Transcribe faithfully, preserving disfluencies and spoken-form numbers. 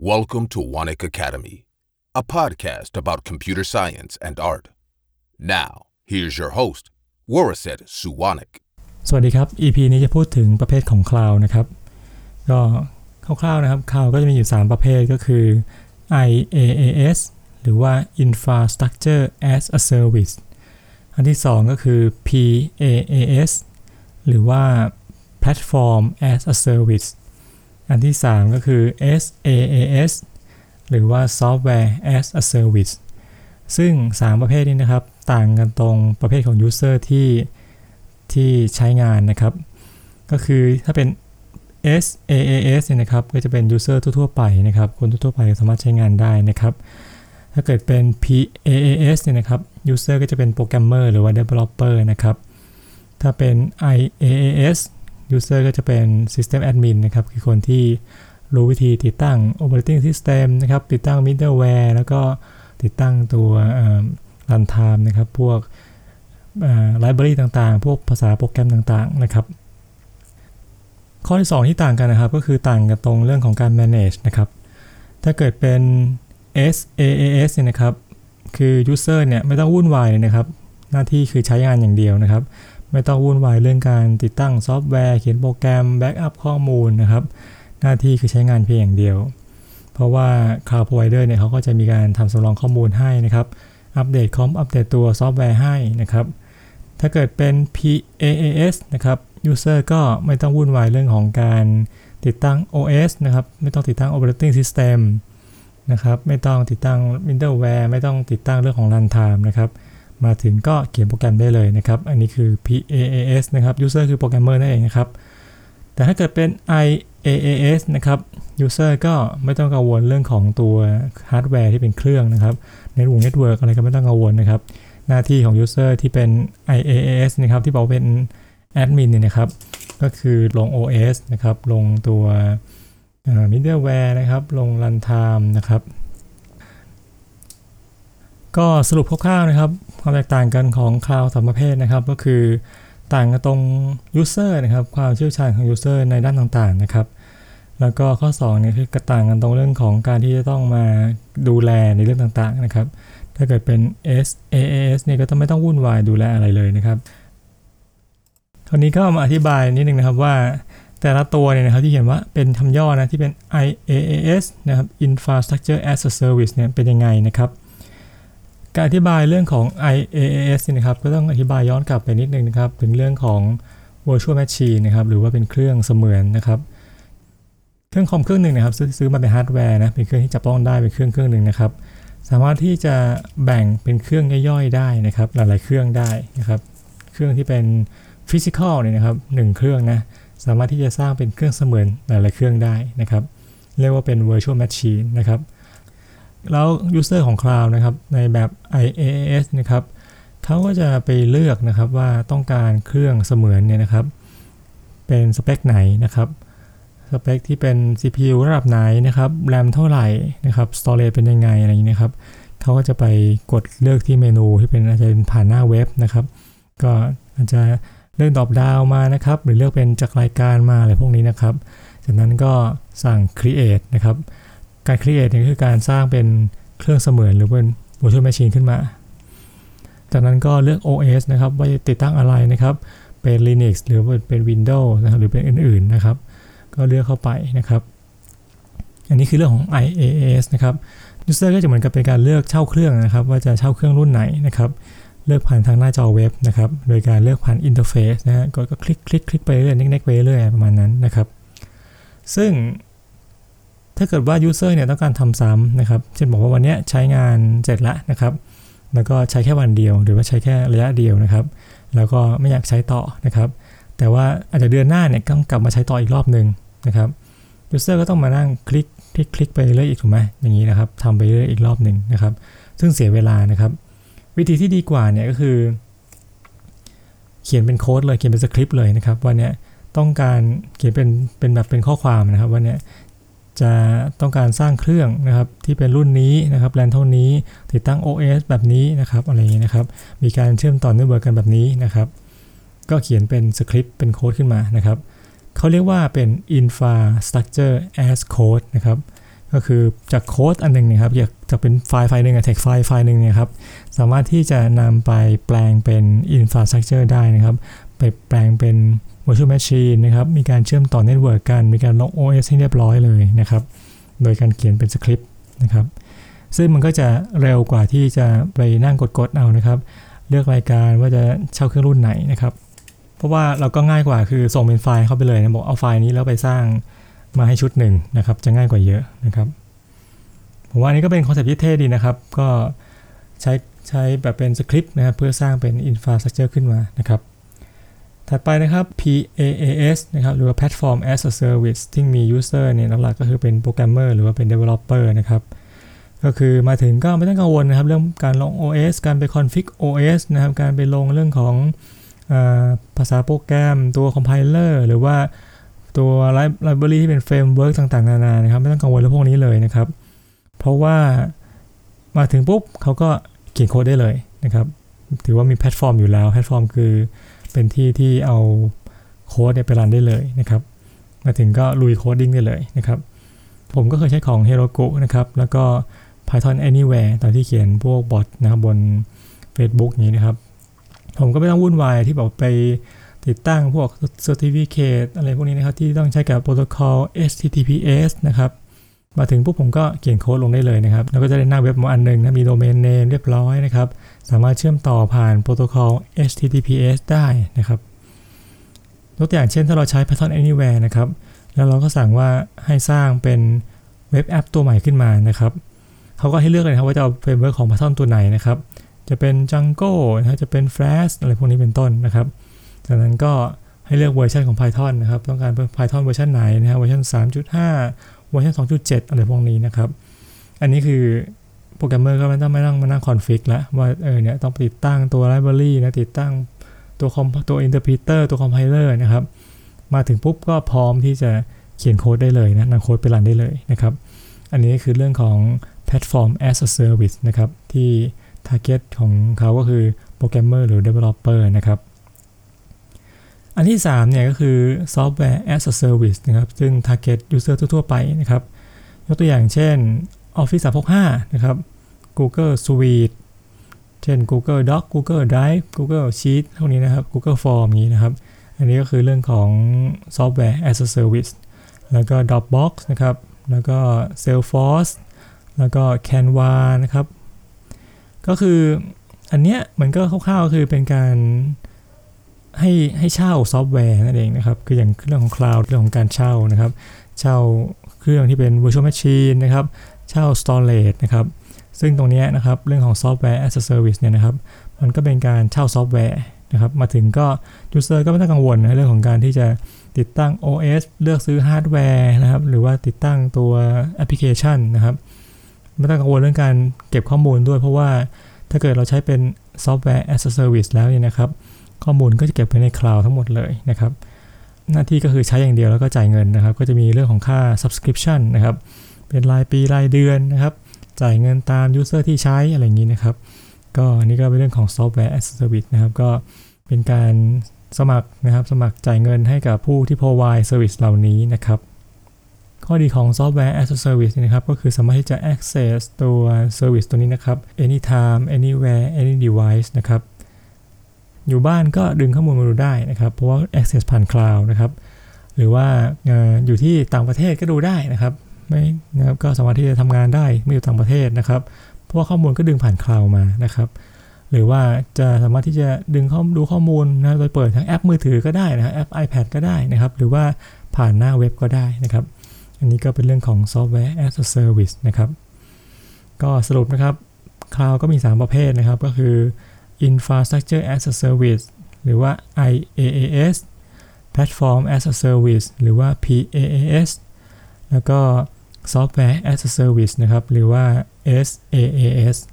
Welcome to Wanik Academy, a podcast about computer science and art. Now, here's your host, Waraset Suwanik. สวัสดีครับ อี พี นี้จะพูดถึงประเภทของ Cloud นะครับก็คร่าวๆนะครับ Cloud ก็จะมีอยู่สามประเภทก็คือ ไอ เอ เอ เอส หรือว่า Infrastructure as a Service อันที่สองก็คือ พี เอ เอ เอส หรือว่า Platform as a Service อันที่สามก็คือ เอส เอ เอ เอส หรือว่า Software as a Service ซึ่งสามประเภทนี้นะครับต่างกันตรงประเภทของ User ที่ที่ใช้งานนะครับก็คือถ้าเป็น เอส เอ เอ เอส เนี่ยนะครับก็จะเป็น User ทั่วๆไปนะครับคนทั่วๆไปสามารถใช้งานได้นะครับถ้าเกิดเป็น พี เอ เอ เอส เนี่ยนะครับ User ก็จะเป็นโปรแกรมเมอร์หรือว่า Developer นะครับถ้าเป็น ไอ เอ เอ เอส User ก็จะเป็น System Admin นะครับคือคนที่รู้วิธีติดตั้ง Operating System นะครับติดตั้ง Middleware แล้วก็ติดตั้งตัว Runtime นะครับพวกไลบรารีต่างๆพวกภาษาโปรแกรมต่างๆนะครับข้อที่สองที่ต่างกันนะครับก็คือต่างกันตรงเรื่องของการ manage นะครับถ้าเกิดเป็น เอส เอ เอ เอส เนี่ยนะครับคือ user เนี่ยไม่ต้องวุ่นวายเลยนะครับหน้าที่คือใช้งานอย่างเดียวนะครับไม่ต้องวุ่นวายเรื่องการติดตั้งซอฟต์แวร์เขียนโปรแกรมแบ็กอัพข้อมูลนะครับหน้าที่คือใช้งานเพียงอย่างเดียวเพราะว่า Cloud Provider เนี่ยเขาก็จะมีการทำสำรองข้อมูลให้นะครับอัปเดตคอมอัปเดตตัวซอฟต์แวร์ให้นะครับถ้าเกิดเป็น พี เอ เอ เอส นะครับ User ก็ไม่ต้องวุ่นวายเรื่องของการติดตั้ง โอ เอส นะครับไม่ต้องติดตั้ง Operating System นะครับไม่ต้องติดตั้ง Middleware ไม่ต้องติดตั้งเรื่องของ Runtime นะครับมาถึงก็เขียนโปรแกรมได้เลยนะครับอันนี้คือ พี เอ เอ เอส นะครับ User คือโปรแกรมเมอร์นั่นเองนะครับแต่ถ้าเกิดเป็น ไอ เอ เอ เอส นะครับ User ก็ไม่ต้องกังวลเรื่องของตัวฮาร์ดแวร์ที่เป็นเครื่องนะครับในวง Network อะไรก็ไม่ต้องกังวลนะครับหน้าที่ของ User ที่เป็น ไอ เอ เอ เอส นะครับที่บอกเป็น Admin เนี่ยนะครับก็คือลง โอ เอส นะครับลงตัว Middleware นะครับลง Runtime นะครับก็สรุปคร่าวๆนะครับความแตกต่างกันของ Cloud สามประเภทนะครับก็คือต่างกันตรง User นะครับความเชี่ยวชาญของ User ในด้านต่างๆนะครับแล้วก็ข้อสองเนี่ยคือกระต่างกันตรงเรื่องของการที่จะต้องมาดูแลในเรื่องต่างๆนะครับถ้าเกิดเป็น เอส เอ เอ เอส เนี่ยก็ต้องไม่ต้องวุ่นวายดูแลอะไรเลยนะครับคราวนี้ก็มาอธิบายนิดนึงนะครับว่าแต่ละตัวเนี่ยนะครับที่เขียนว่าเป็นคำย่อนะที่เป็น ไอ เอ เอ เอส นะครับ Infrastructure as a Service เนี่ยเป็นยังไงนะครับการอธิบายเรื่องของ ไอ เอ เอ เอส นะครับก็ต้องอธิบายย้อนกลับไปนิดนึงนะครับถึงเรื่องของ Virtual Machine นะครับหรือว่าเป็นเครื่องเสมือนนะครับเครื่องคอมเครื่องหนึ่งนะครับซื้อซื้อมาเป็นฮาร์ดแวร์นะเป็นเครื่องที่จับต้องได้เป็นเครื่องเครื่องหนึ่งนะครับสามารถที่จะแบ่งเป็นเครื่องย่อยๆได้นะครับหลายๆเครื่องได้นะครับเครื่องที่เป็นฟิสิกอลเนี่ยนะครับหนึ่งเครื่องนะสามารถที่จะสร้างเป็นเครื่องเสมือนหลายๆเครื่องได้นะครับเรียกว่าเป็น Virtual Machine นะครับแล้ว User ของ Cloud นะครับในแบบ ไอ เอ เอ เอส นะครับเขาก็จะไปเลือกนะครับว่าต้องการเครื่องเสมือนเนี่ยนะครับเป็นสเปคไหนนะครับสเปคที่เป็น ซี พี ยู ระดับไหนนะครับ RAM เท่าไหร่นะครับ Storage เป็นยังไงอะไรอย่างนี้นะครับเขาก็จะไปกดเลือกที่เมนูที่เป็นอาจจะเป็นผ่านหน้าเว็บนะครับก็อาจจะเลือกดรอปดาวน์มานะครับหรือเลือกเป็นจากรายการมาอะไรพวกนี้นะครับจากนั้นก็สั่ง create นะครับการ create เนี่ยคือการสร้างเป็นเครื่องเสมือนหรือเป็น virtual machine ขึ้นมาจากนั้นก็เลือก โอ เอส นะครับว่าจะติดตั้งอะไรนะครับเป็น Linux หรือเป็น Windows นะครับหรือเป็นอื่นๆนะครับก็เลือกเข้าไปนะครับอันนี้คือเรื่องของ ไอ เอ เอ เอส นะครับ User ก็จะเหมือนกับเป็นการเลือกเช่าเครื่องนะครับว่าจะเช่าเครื่องรุ่นไหนนะครับเลือกผ่านทางหน้าจอเว็บนะครับโดยการเลือกผ่านอินเทอร์เฟซนะฮะก็ก็คลิกคลิกคลิกไปเรื่อยเน็กๆไปเรื่อยประมาณนั้นนะครับซึ่งถ้าเกิดว่า User เนี่ยต้องการทำซ้ำนะครับเช่นบอกว่าวันนี้ใช้งานเสร็จแล้วนะครับแล้วก็ใช้แค่วันเดียวหรือว่าใช้แค่ระยะเดียวนะครับแล้วก็ไม่อยากใช้ต่อนะครับแต่ว่าอาจจะเดือนหน้าเนี่ยต้องกลับมาใช้ต่ออีกรอบนึงนะครับ User ก็ต้องมานั่งคลิกคลิกคลิกไปเรื่อยอีกถูกไหมอย่างนี้นะครับทำไปเรื่อยอีกรอบนึงนะครับซึ่งเสียเวลานะครับวิธีที่ดีกว่าเนี่ยก็คือเขียนเป็นโค้ดเลยเขียนเป็นสคริปต์เลยนะครับว่าเนี่ยต้องการเขียนเป็นเป็นแบบเป็นข้อความนะครับว่าเนี่ยจะต้องการสร้างเครื่องนะครับที่เป็นรุ่นนี้นะครับแรมเท่านี้ติดตั้ง โอ เอส แบบนี้นะครับอะไรอย่างนี้นะครับมีการเชื่อมต่อเน็ตเวิร์กกันแบบนี้นะครับก็เขียนเป็นสคริปต์เป็นโค้ดขึ้นมานะครับเขาเรียกว่าเป็น Infrastructure as Code นะครับกก็คือจากโค้ดอันนึงเนี่ยครับอยากจะเป็นไฟล์ไฟล์นึงอะ text ไฟล์ไฟล์นึงเนี่ยครับสามารถที่จะนำไปแปลงเป็น infrastructure ได้นะครับไปแปลงเป็น virtual machine นะครับมีการเชื่อมต่อ network กันมีการลง โอ เอส ให้เรียบร้อยเลยนะครับโดยการเขียนเป็นสคริปต์นะครับซึ่งมันก็จะเร็วกว่าที่จะไปนั่งกดๆเอานะครับเลือกรายการว่าจะเช่าเครื่องรุ่นไหนนะครับเพราะว่าเราก็ง่ายกว่าคือส่งเป็นไฟล์เข้าไปเลยนะบอกเอาไฟล์นี้แล้วไปสร้างมาให้ชุดหนึ่งนะครับจะง่ายกว่าเยอะนะครับผมว่าอันนี้ก็เป็นคอนเซ็ปต์ที่เท่ดีนะครับก็ใช้ใช้แบบเป็นสคริปต์นะครับเพื่อสร้างเป็น infrastructure ขึ้นมานะครับถัดไปนะครับ พี เอ เอ เอส นะครับหรือว่า Platform as a Service ที่มี user เนี่ยหลักๆก็คือเป็นโปรแกรมเมอร์หรือว่าเป็น developer นะครับก็คือมาถึงก็ไม่ต้องกังวลนะครับเรื่องการลง โอ เอส การไป config โอ เอส นะครับการไปลงเรื่องของภาษาโปรแกรมตัว compiler หรือว่าตัว library ที่เป็น framework ต่างๆนานานะครับไม่ต้องกังวลเรื่องพวกนี้เลยนะครับเพราะว่ามาถึงปุ๊บเขาก็เขียนโค้ดได้เลยนะครับถือว่ามีแพลตฟอร์มอยู่แล้วแพลตฟอร์มคือเป็นที่ที่เอาโค้ดเนี่ยไปรันได้เลยนะครับมาถึงก็ลุยโคดดิ้งได้เลยนะครับผมก็เคยใช้ของ Heroku นะครับแล้วก็ Python Anywhere ตอนที่เขียนพวกบอทนะครับบน Facebook นี้นะครับผมก็ไม่ต้องวุ่นวายที่บอกไปติดตั้งพวก Certificate อะไรพวกนี้นะครับที่ต้องใช้กับโปรโตคอล เอช ที ที พี เอส นะครับมาถึงปุ๊บผมก็เขียนโค้ดลงได้เลยนะครับแล้วก็จะได้หน้าเว็บมาอันนึงนะมีโดเมนเนมเรียบร้อยนะครับสามารถเชื่อมต่อผ่านโปรโตคอล เอช ที ที พี เอส ได้นะครับยกตัวอย่างเช่นถ้าเราใช้ Python Anywhere นะครับแล้วเราก็สั่งว่าให้สร้างเป็นเว็บแอปตัวใหม่ขึ้นมานะครับเขาก็ให้เลือกเลยครับว่าจะเอาเฟรมเวิร์คของ Python ตัวไหนนะครับจะเป็น Django นะจะเป็น Flash อะไรพวกนี้เป็นต้นนะครับจากนั้นก็ให้เลือกเวอร์ชันของ Python นะครับต้องการ Python เวอร์ชันไหนนะครับเวอร์ชัน สามจุดห้า เวอร์ชัน สองจุดเจ็ด อะไรพวกนี้นะครับอันนี้คือโปรแกรมเมอร์ก็ไม่ต้องมานั่งมานั่งคอนฟิกแล้วว่าเออเนี่ยต้องติดตั้งตัว library นะติดตั้งตัวคอมตัว interpreter ตัว compiler นะครับมาถึงปุ๊บก็พร้อมที่จะเขียนโค้ดได้เลยนะนำโค้ดไปรันได้เลยนะครับอันนี้คือเรื่องของ Platform as a Service นะครับที่ target ของเขาก็คือโปรแกรมเมอร์หรือ developer นะครับอันที่สามเนี่ยก็คือ Software as a Service นะครับซึ่ง target user ทั่วๆไปนะครับยกตัวอย่างเช่น Office สามหกห้านะครับ Google Suite เช่น Google Doc Google Drive Google Sheet พวกนี้นะครับ Google Form นี้นะครับอันนี้ก็คือเรื่องของ Software as a Service แล้วก็ Dropbox นะครับแล้วก็ Salesforce แล้วก็ Canva นะครับก็คืออันเนี้ยมันก็คร่าวๆคือเป็นการให้ให้เช่าซอฟต์แวร์นั่นเองนะครับคืออย่างเรื่องของ Cloud เรื่องของการเช่านะครับเช่าเครื่องที่เป็น Virtual Machine นะครับเช่า Storage นะครับซึ่งตรงนี้นะครับเรื่องของ Software as a Service เนี่ยนะครับมันก็เป็นการเช่าซอฟต์แวร์นะครับมาถึงก็ User ก็ไม่ต้องกังวลในเรื่องของการที่จะติดตั้ง โอ เอส เลือกซื้อฮาร์ดแวร์นะครับหรือว่าติดตั้งตัวแอปพลิเคชันนะครับไม่ต้องกังวลเรื่องการเก็บข้อมูลด้วยเพราะว่าถ้าเกิดเราใช้เป็น Software as a Service แล้วเนี่ยนะครับข้อมูลก็จะเก็บไว้ใน Cloud ทั้งหมดเลยนะครับหน้าที่ก็คือใช้อย่างเดียวแล้วก็จ่ายเงินนะครับก็จะมีเรื่องของค่า Subscription นะครับเป็นรายปีรายเดือนนะครับจ่ายเงินตาม User ที่ใช้อะไรอย่างนี้นะครับก็อันนี้ก็เป็นเรื่องของ Software as a Service นะครับก็เป็นการสมัครนะครับสมัครจ่ายเงินให้กับผู้ที่ provide service เหล่านี้นะครับข้อดีของ Software as a Service นะครับก็คือสามารถที่จะ access ตัว service ตัวนี้นะครับ anytime anywhere any device นะครับอยู่บ้านก็ดึงข้อมูลมาดูได้นะครับเพราะว่า access ผ่าน cloud นะครับหรือว่า อ, อยู่ที่ต่างประเทศก็ดูได้นะครับไม่นะครับก็สามารถที่จะทำงานได้ไม่อยู่ต่างประเทศนะครับเพราะว่าข้อมูลก็ดึงผ่าน cloud มานะครับหรือว่าจะสามารถที่จะดึงข้อมูลดูข้อมูลนะโดยเปิดทั้งแอปมือถือก็ได้นะครับแอป iPad ก็ได้นะครับหรือว่าผ่านหน้าเว็บก็ได้นะครับอันนี้ก็เป็นเรื่องของ Software as a Service นะครับก็สรุปนะครับ Cloud ก็มีสามประเภทนะครับก็คือ Infrastructure as a Service หรือว่า ไอ เอ เอ เอส Platform as a Service หรือว่า พี เอ เอ เอส แล้วก็ Software as a Service นะครับหรือว่า เอส เอ เอ เอส